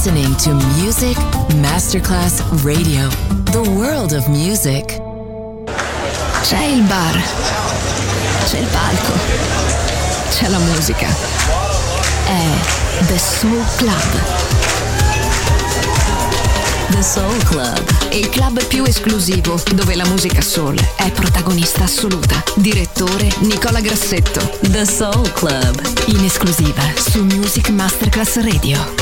listening to Music Masterclass Radio, the world of music. C'è il bar, c'è il palco, c'è la musica. È The Soul Club. The Soul Club, Il club più esclusivo dove la musica soul è protagonista assoluta. Direttore Nicola Grassetto. The Soul Club, In esclusiva su Music Masterclass Radio.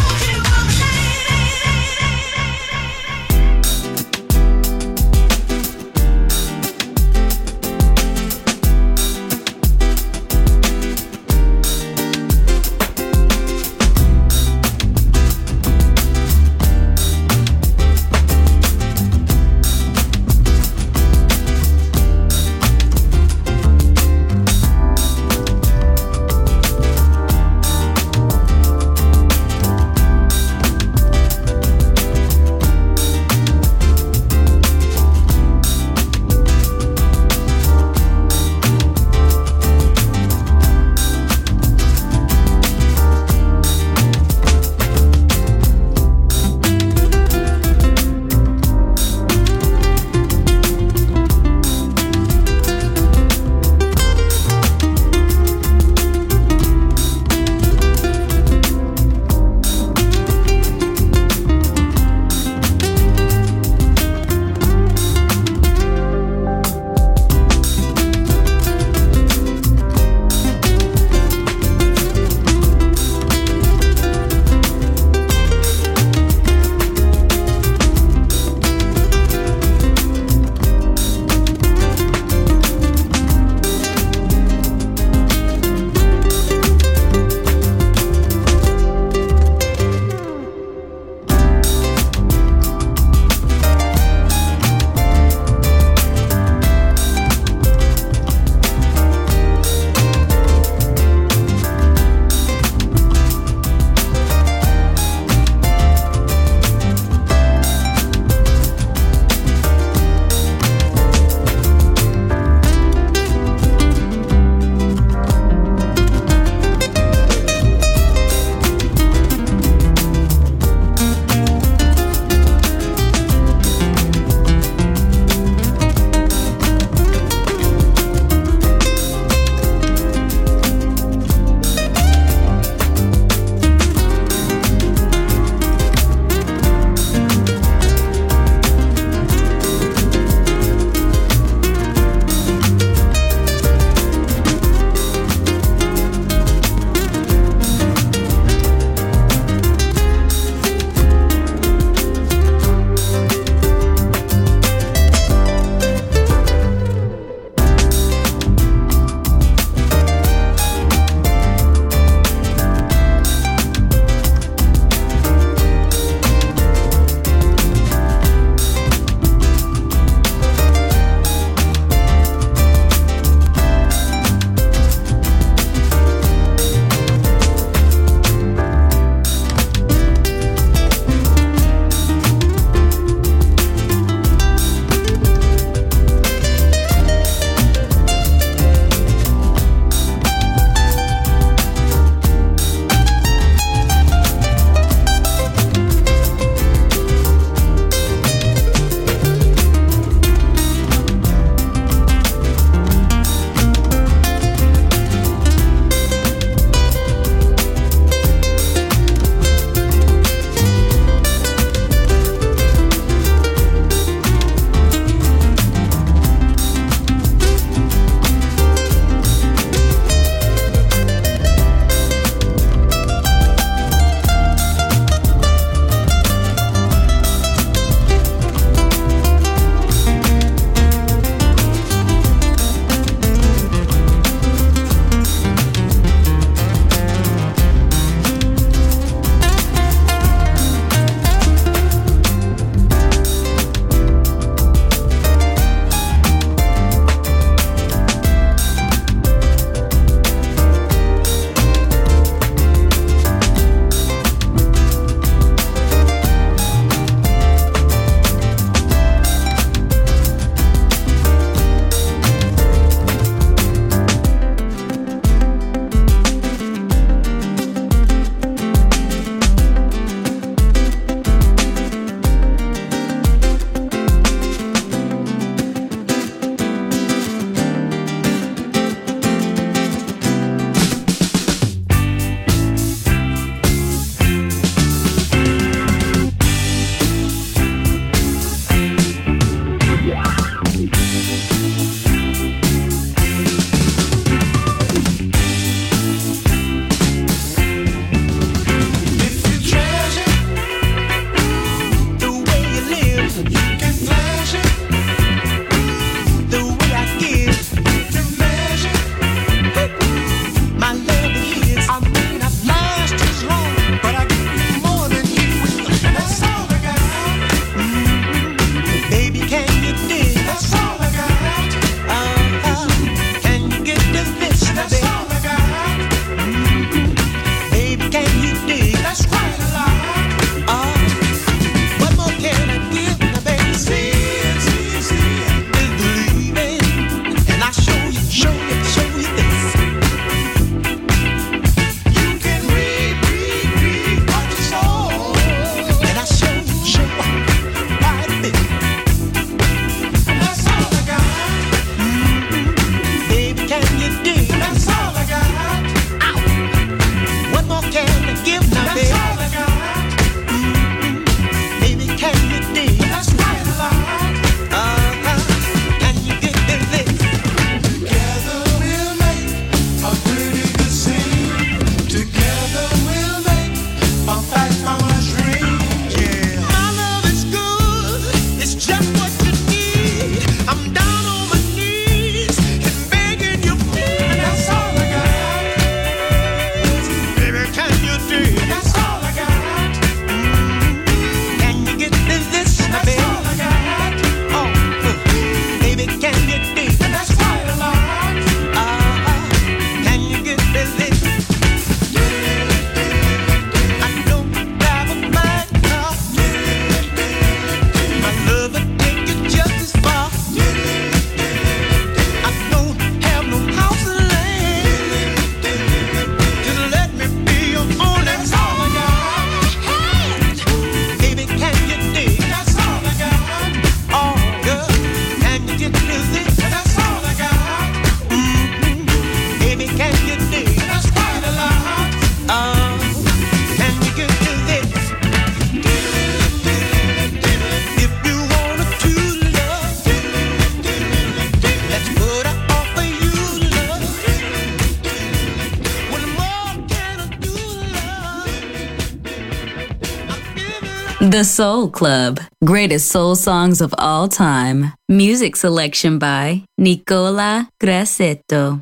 The Soul Club. Greatest soul songs of all time. Music selection by Nicola Grassetto.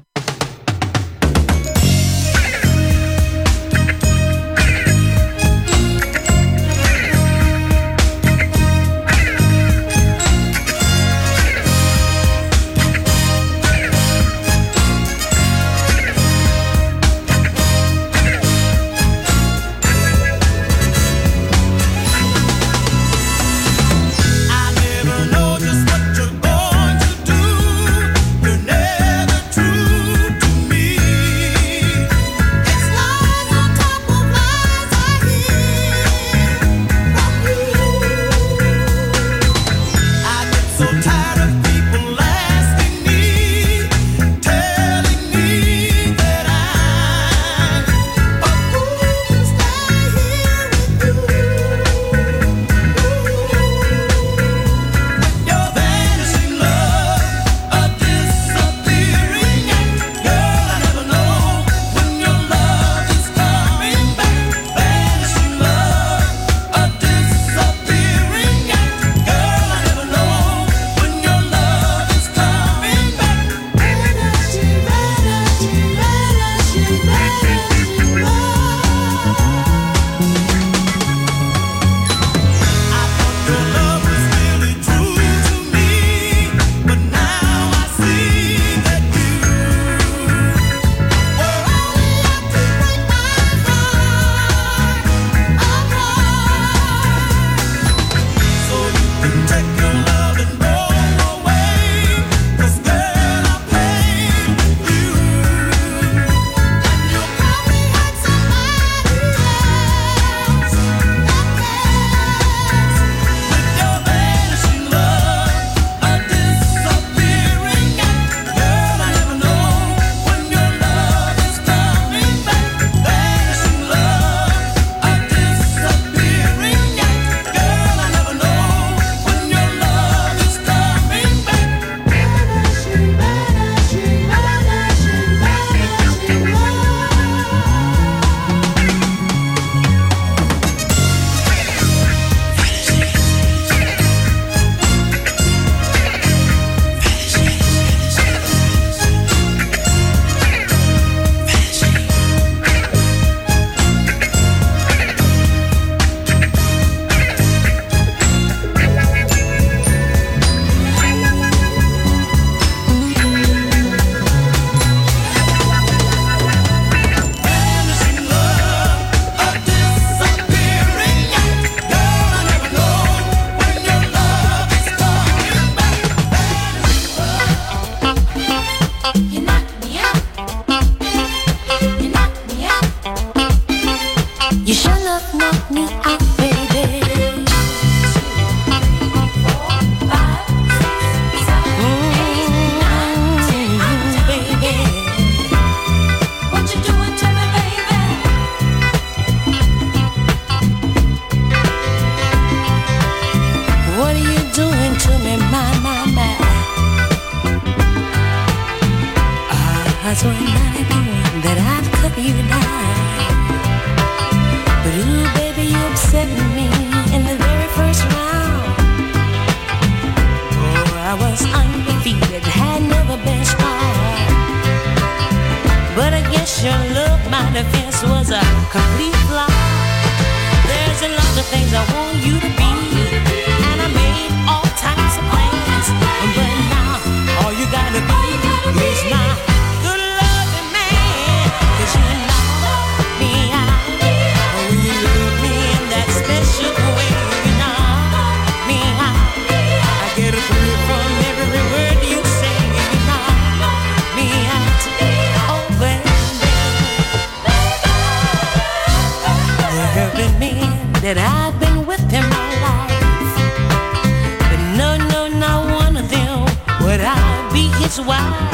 That I've been with him my life, but no, not one of them would I be his wife.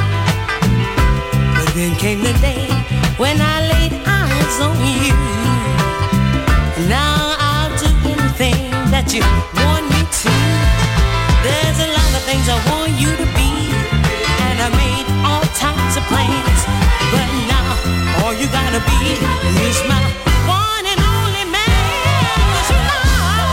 But then came the day when I laid eyes on you. Now I'll do anything that you want me to. There's a lot of things I want you to be, and I made all types of plans, but now all you gotta be is my one and only man. 'Cause you love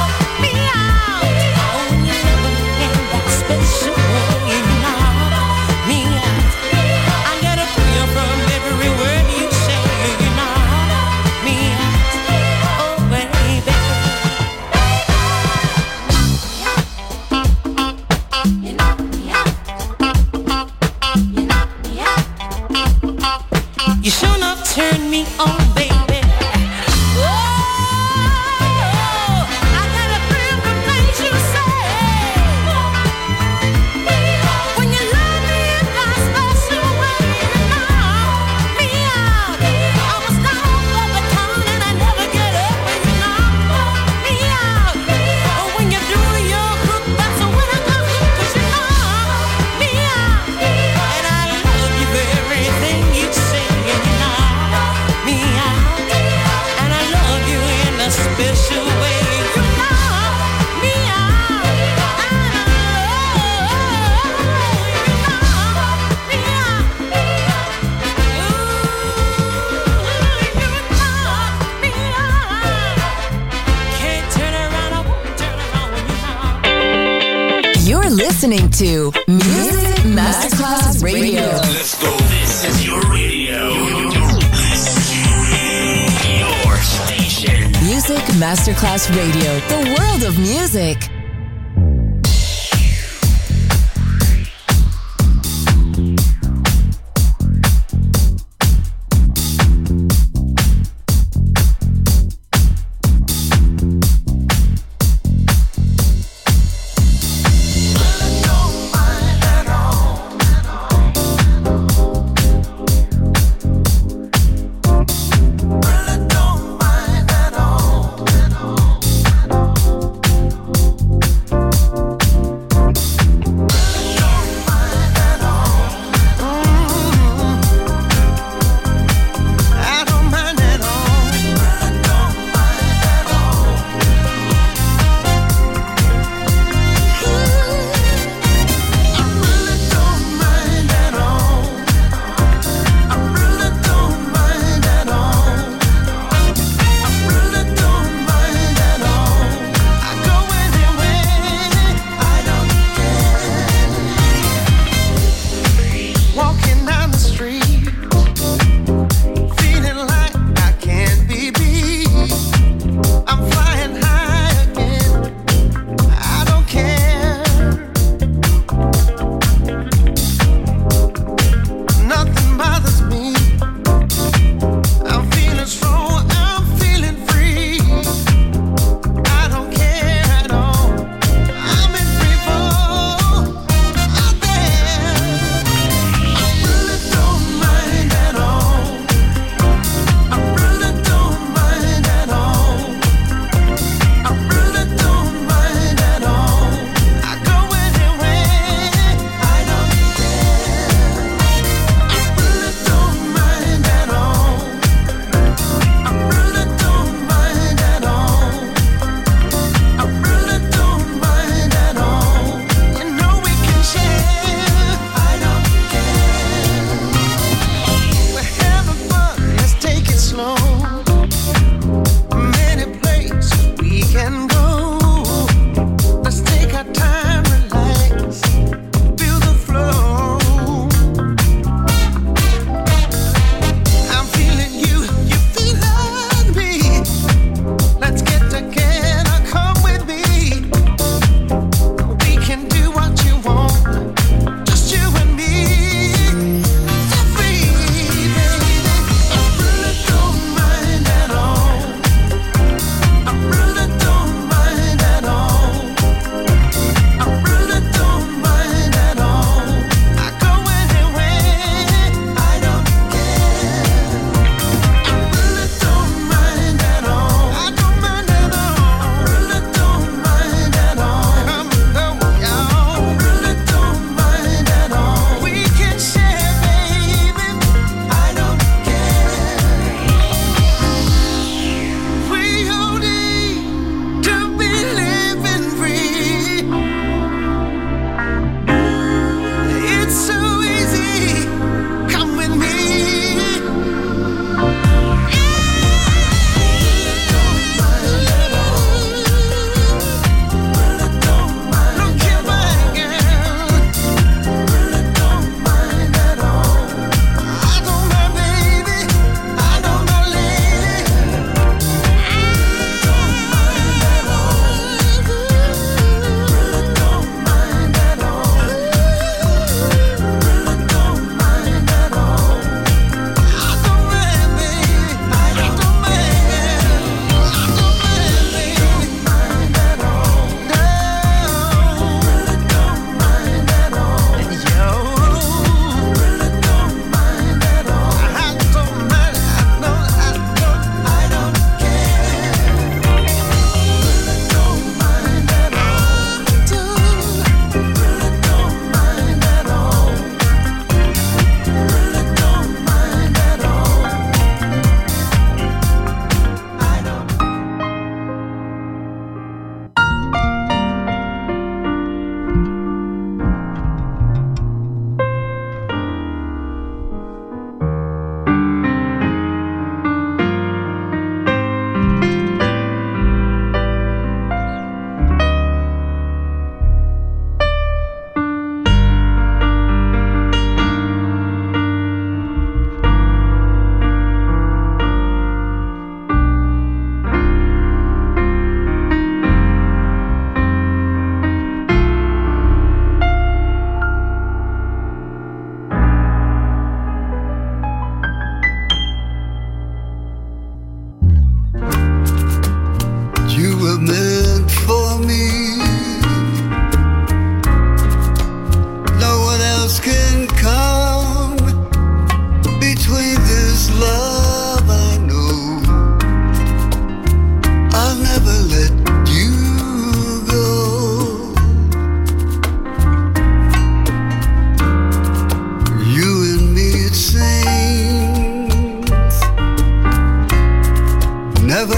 You're listening to Music Masterclass Radio. Let's go. This is your radio. Your station. Music Masterclass Radio. The world of music.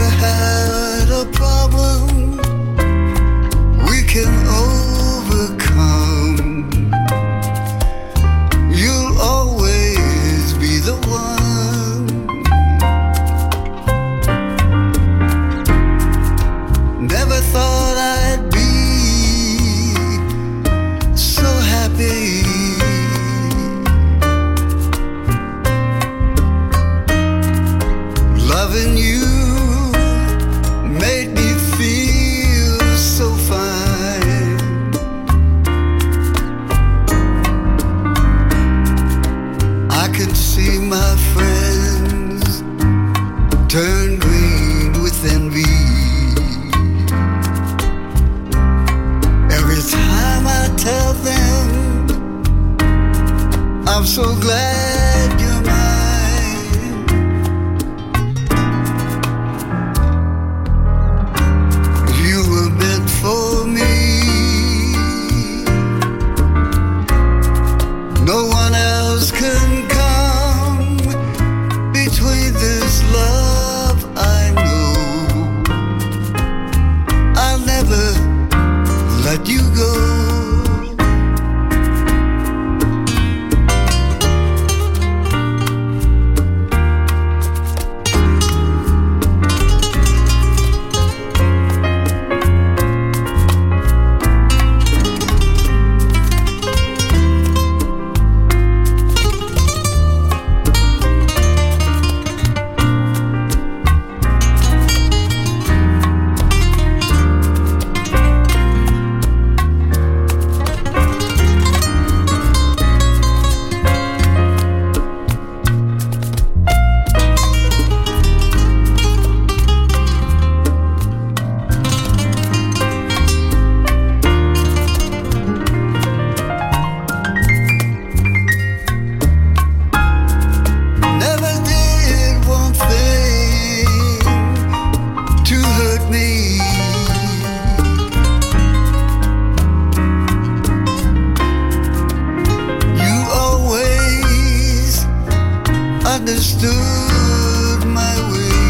had a problem we can overcome. You'll always be the one. Never thought I'd be so happy. Loving you made me feel so fine. I could see my friends turn green with envy. Every time I tell them I'm so glad you're mine. For me, no one else can come between this love I know. I'll never let you go. Understood my way.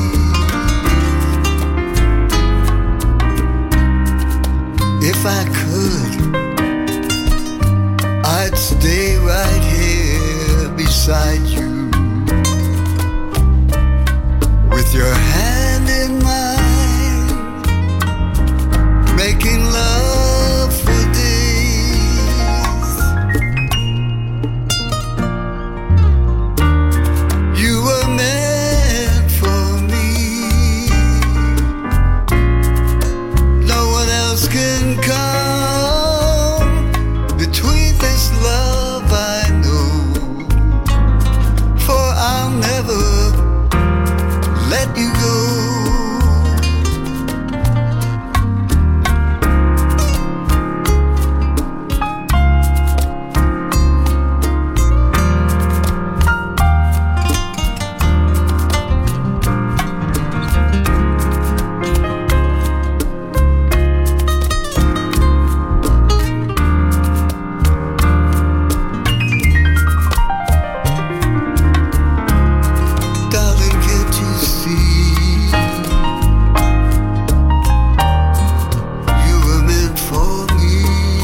If I could, I'd stay right here beside you, with your hand in mine, making love for days. You were meant for me. No one else can come between this love I know. For I'll never let you go. Darling, can't you see? You were meant for me.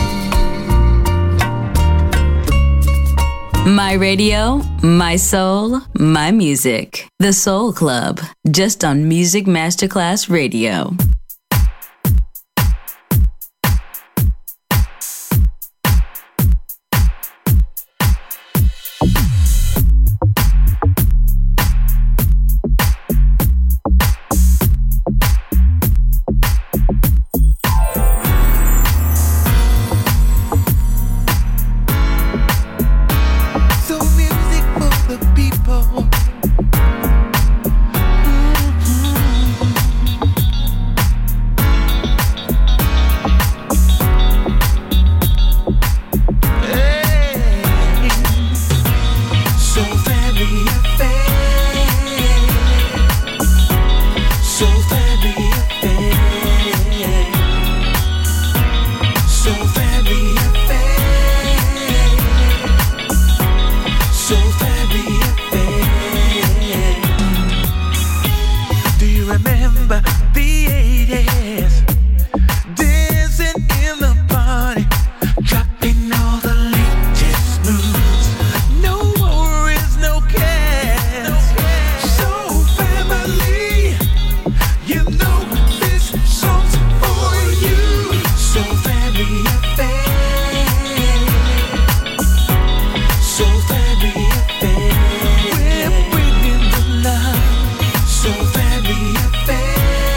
My radio, my soul, my music. The Soul Club, just on Music Masterclass Radio. So music for the people. remember the 80s, dancing in the party, dropping all the latest moves. No worries, no cares. Soul family, you know this song's for you. Soul family affair. Soul family affair. We're bringing the love. Soul family affair.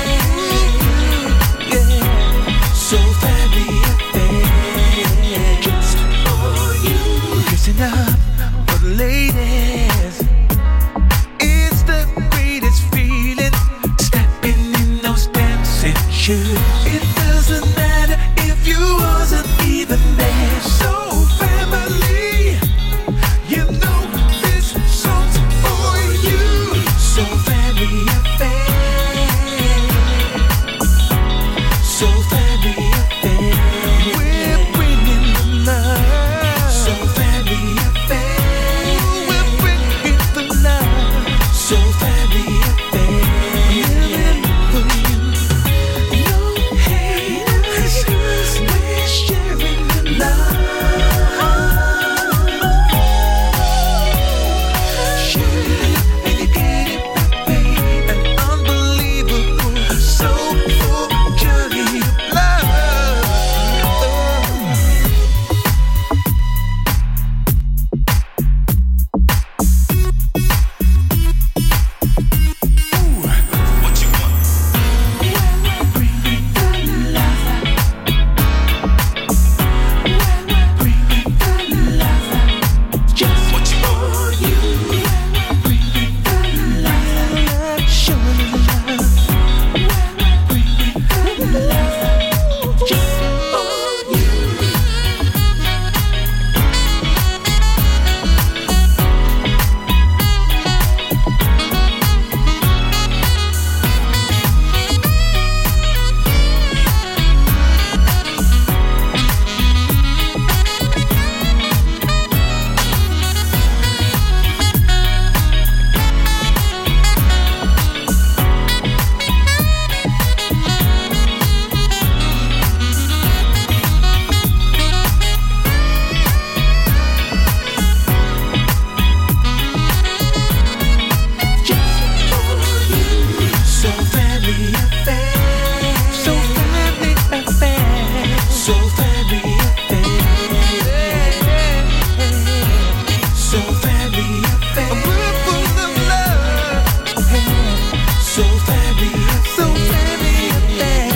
Yeah. Soul family affair. Just for you. Listen up for the ladies. It's the greatest feeling, stepping in those dancing shoes. It doesn't matter if you wasn't even there. Soul family, you know this song's for you. Soul family affair. Soul family affair. We're bringing the love. Soul family affair. We're bringing the love. Soul family affair. Living for you. No haters. We're sharing the love. Sharing and you get it back, babe. An unbelievable, soulful journey of love. What you want? Bringing the love. Bringing the love. Just What you want? for you. Bringing the love. Showing the love. Bringing the love. Just for you. Soul family affair. Soul family affair. Soul family affair. Soul family affair. We're full of love. Soul family affair. Soul family affair.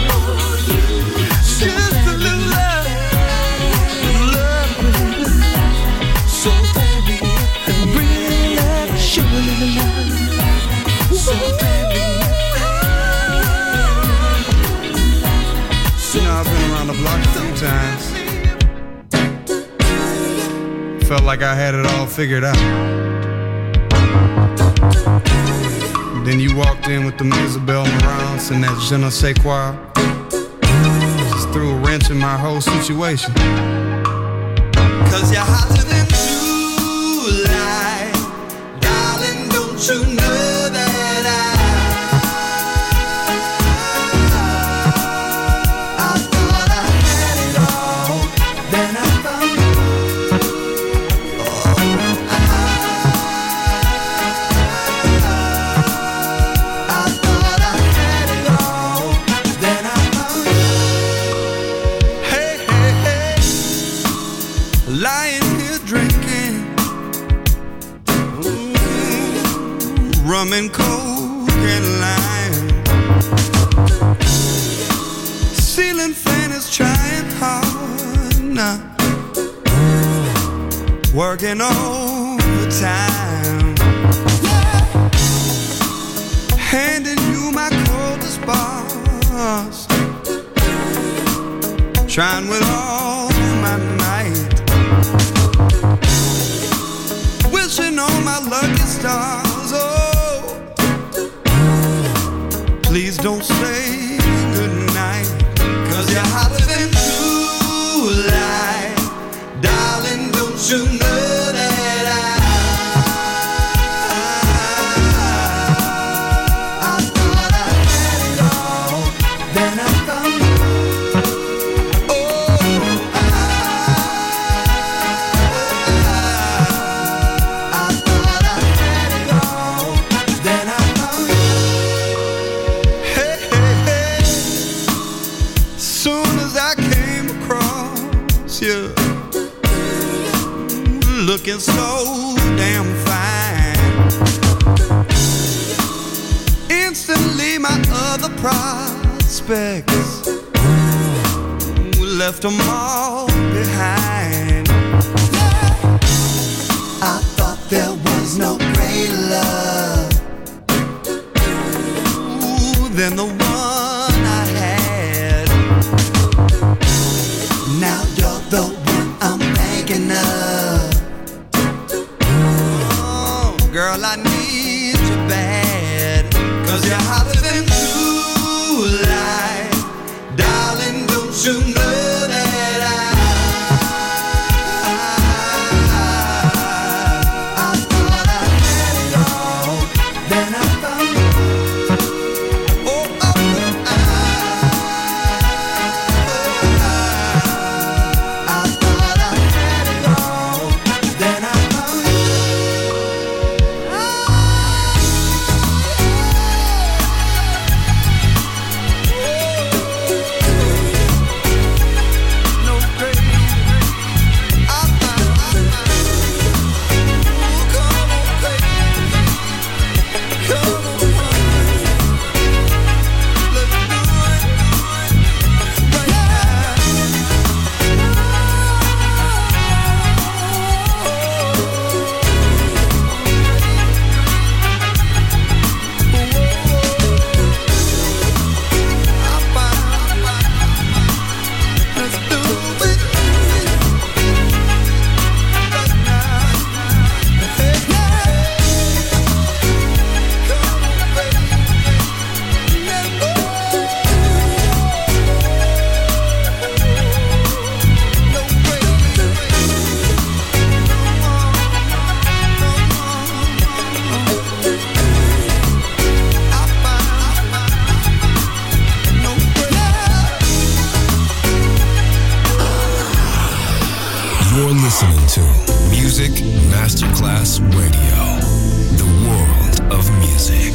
Just a little love. Love. Soul family affair. Bring love. Show a little love. Soul family. You know, I've been around the block a few times. Felt like I had it all figured out. Then you walked in with them Isabel Marants and that je ne sais quoi. Just threw a wrench in my whole situation. Cause you're hotter than July. Darling, don't you know that I thought I had it all. Then I found you. I thought I had it all. Then I found you. Hey, hey, hey. Lying here drinking rum and coke and lime. Ceiling fan is trying hard now, working overtime, handing you my coldest bars, trying with all my might, wishing on my lucky stars. Oh, please don't say goodnight, 'cause you're hotter than July. Darling, don't you know that I thought I miss you. Looking so damn fine. Instantly my other prospects left them all behind. I thought there was no great love than the one I had. Now you're the one I'm thinking of. Oh, girl, I need you bad, 'cause you're hotter than July. Darling, don't you know that I thought I had it all, then I found you. You're listening to Music Masterclass Radio, the world of music.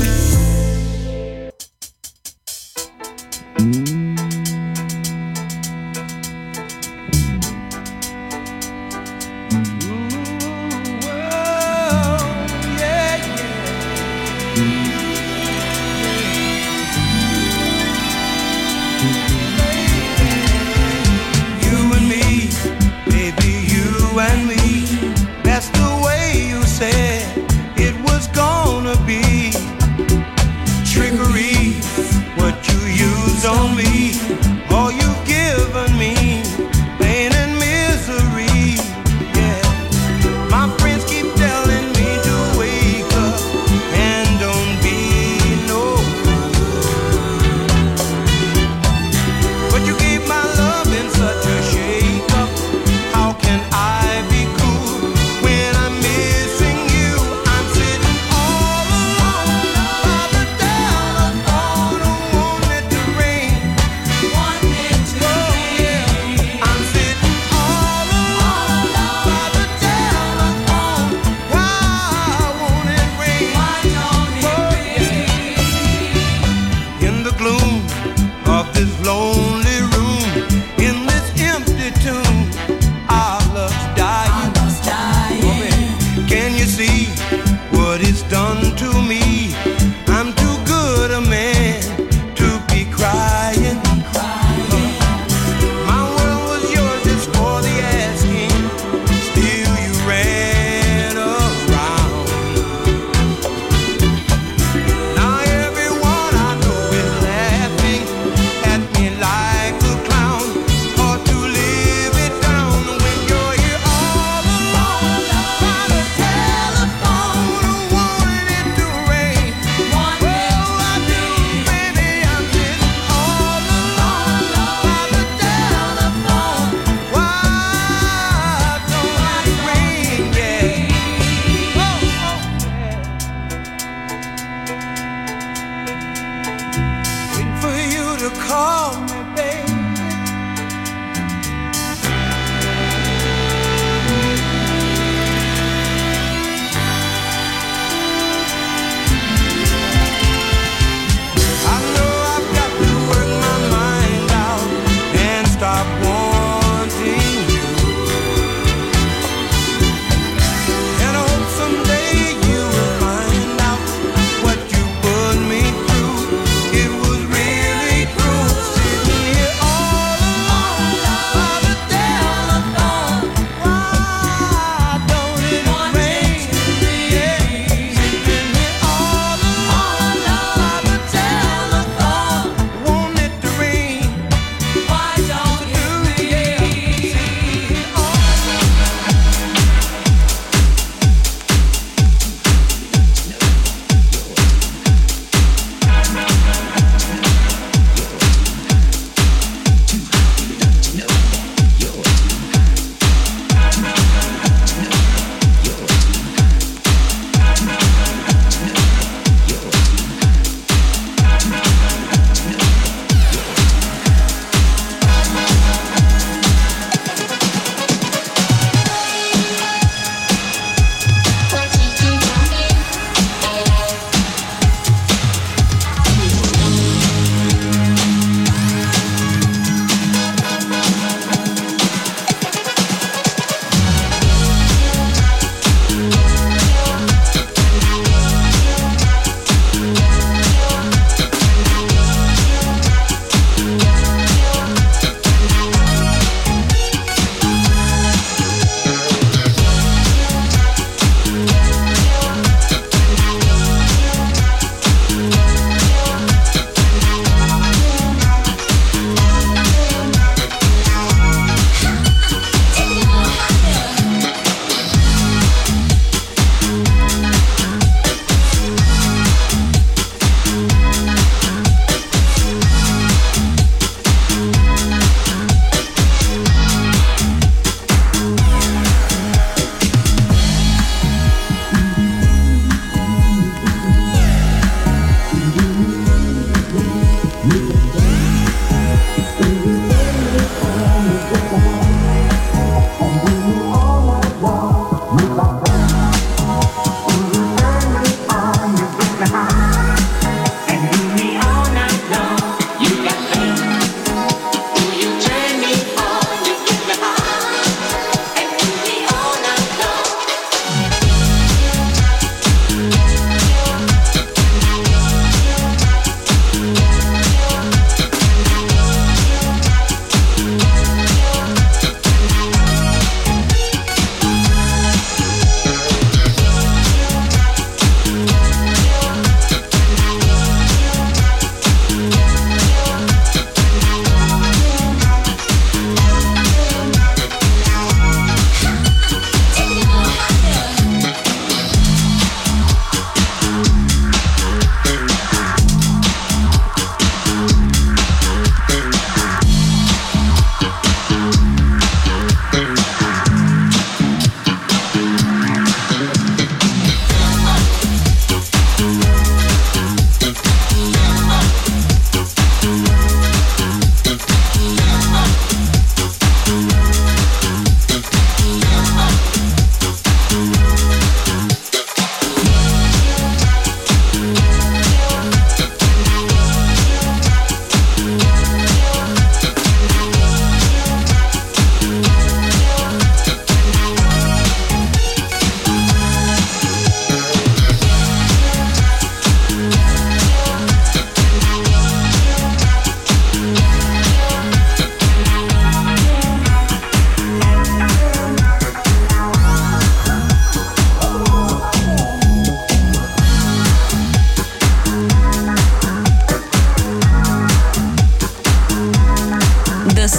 That's the way you said it was gonna be.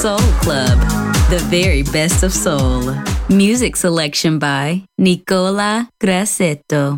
Soul Club, the very best of soul. Music selection by Nicola Grassetto.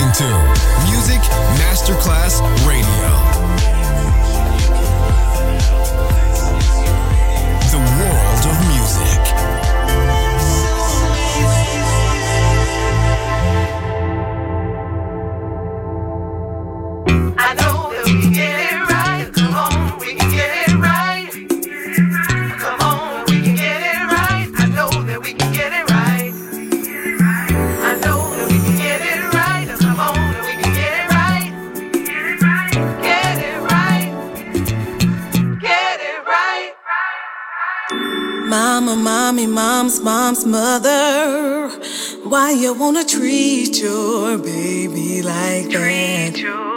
listening to Music Masterclass Radio. The world of music. I know that we can get it right. Come on, we can get it right. Come on, we can get it right. I know that we can get it right. I know that we can get it right. Come on, that we can get it right. Get it right. Get it right. Mama, mommy, mom's mother. Why you wanna treat your baby like that?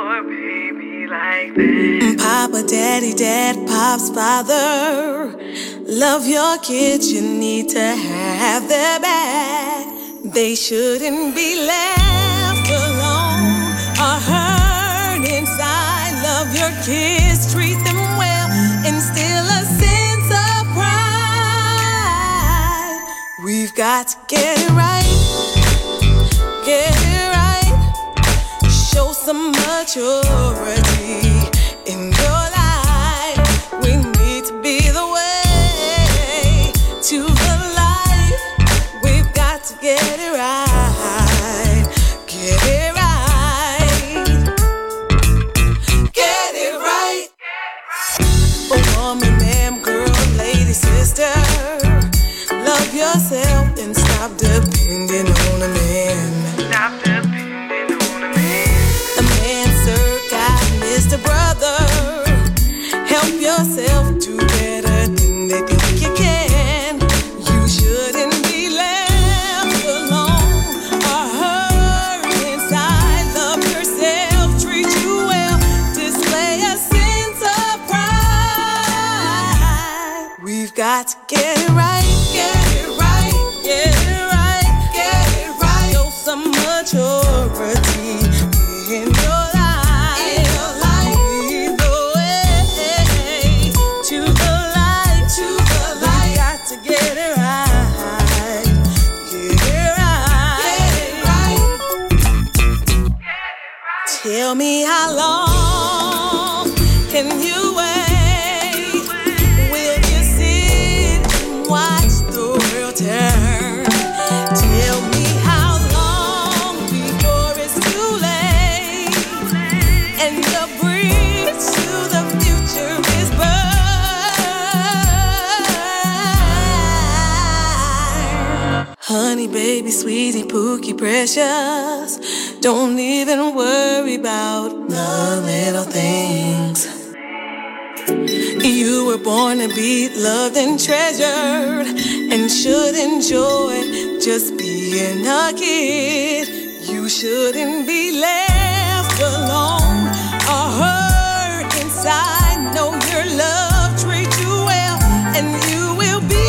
Papa, daddy, dad, pop's father. Love your kids, you need to have their back. They shouldn't be left alone or hurt inside. Love your kids, treat them well, instill a sense of pride. We've got to get it right. Get it right. Show some maturity in your life. We need to be the way to the light. We've got to get it right. Get it right. Get it right. Oh, woman, ma'am, girl, lady, sister. Love yourself and stop depending on a man. Stop depending on a man. A man, sir, God, Mr. Brother. Help yourself do better than they think you can. You shouldn't be left alone or hurt inside. Love yourself, treat you well, display a sense of pride. We've got to get it right. Get it right. Get it right. Get it right. Show some maturity in your life. In your life. Lead the way to the light. To the light. We got to get it right. Get it right. Get it right. Tell me how long can you wait? Will you sit and watch the world turn? Tell me how long before it's too late and the bridge to the future is burned. Honey, baby, sweetie, pookie, precious. Don't even worry about the little things. You were born to be loved and treasured and should enjoy just being a kid. You shouldn't be left alone or hurt inside. Know your love, treat you well, and you will be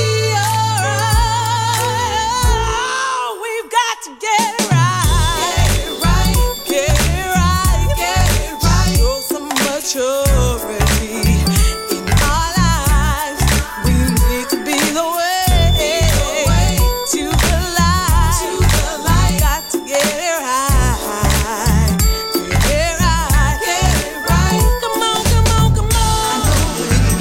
alright. We've got to get it right. Get it right. Get it right. Get it right. Show some maturity in our lives. We need to be the way to the light. To the light. Got to get it right. Get it right. Get it right. Come on, come on, come on. I know that we can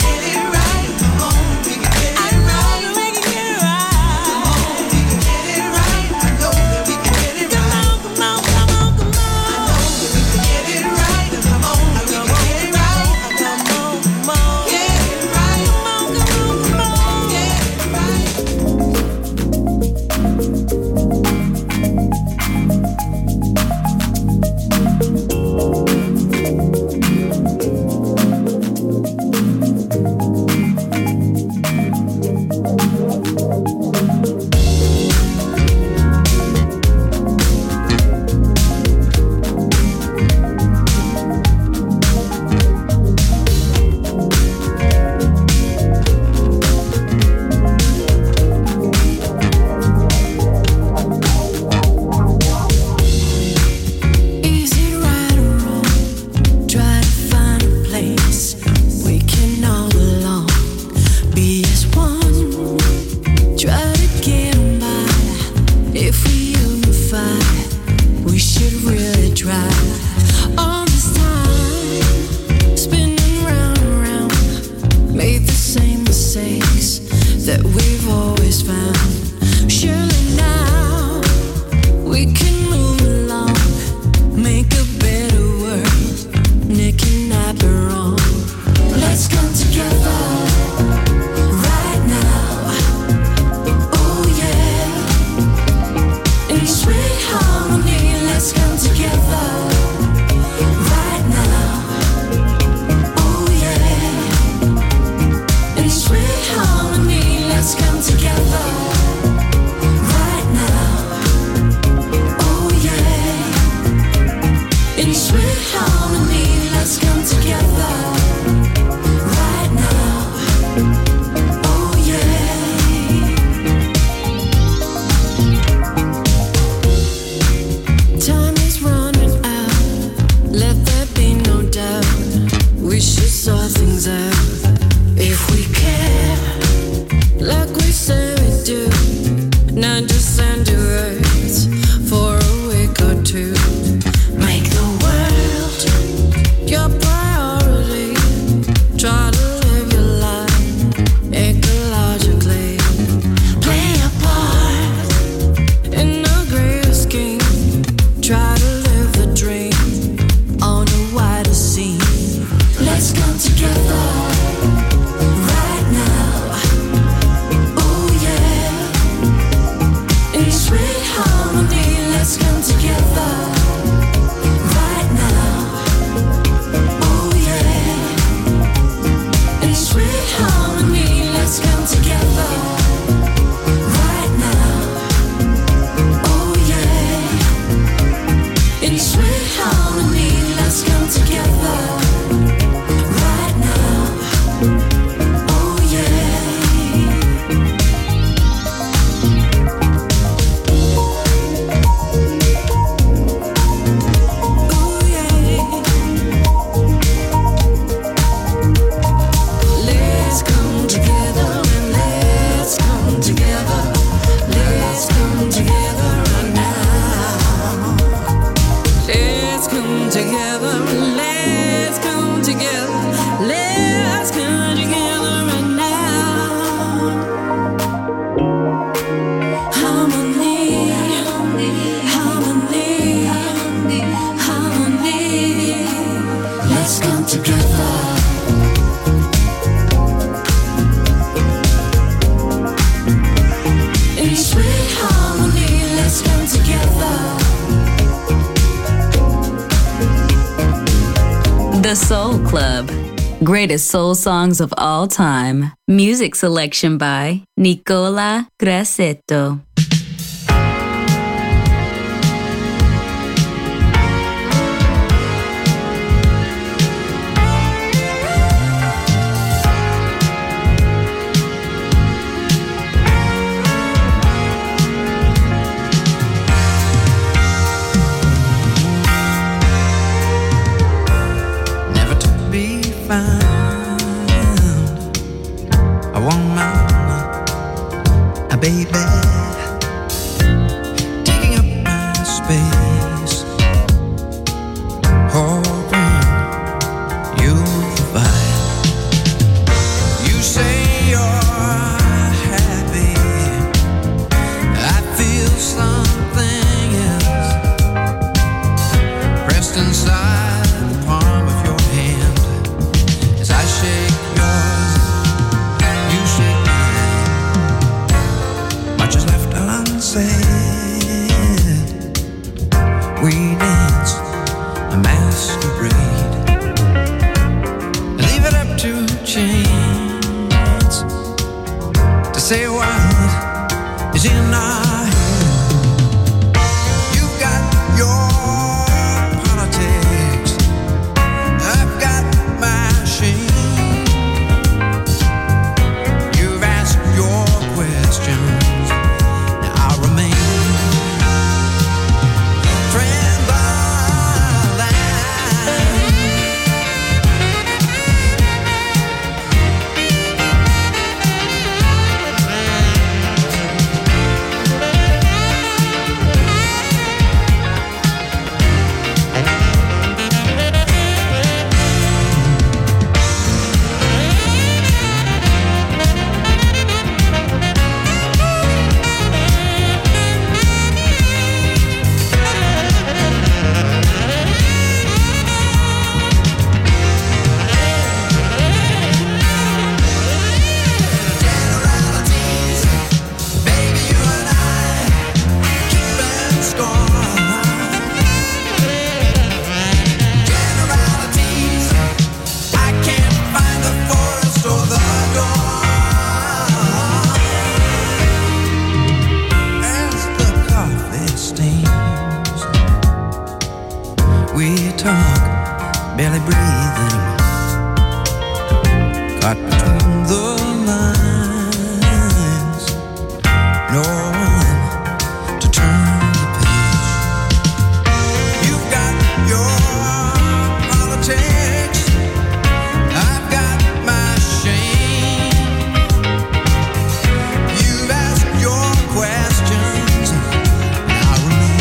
The Soul Club. Greatest soul songs of all time. Music selection by Nicola Grassetto. A woman, a baby, taking up my space, hoping you'll provide. You say you're happy, I feel something else pressed inside the palm of your hand. As I shake yours, you shake mine. Much is left unsaid. We dance a masquerade. Leave it up to chance to say what is in our head. You've got your politics, I've got my shame. You've asked your questions, now I'll remain barely breathing, caught between the lines, no one to turn the page. You've got your politics, I've got my shame. You've asked your questions, and I'll remain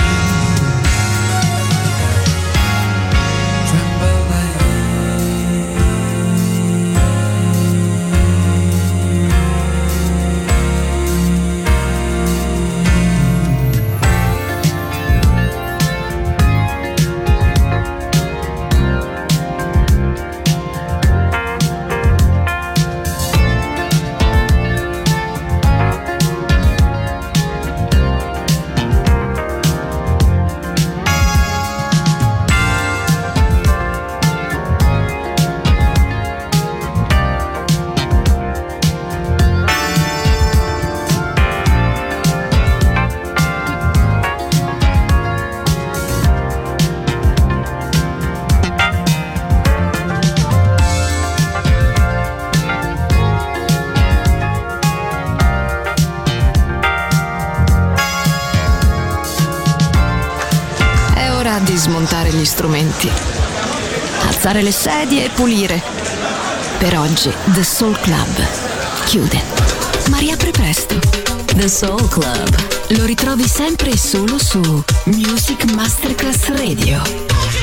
di smontare gli strumenti, alzare le sedie e pulire. Per oggi The Soul Club chiude, ma riapre presto. The Soul Club. Lo ritrovi sempre e solo su Music Masterclass Radio.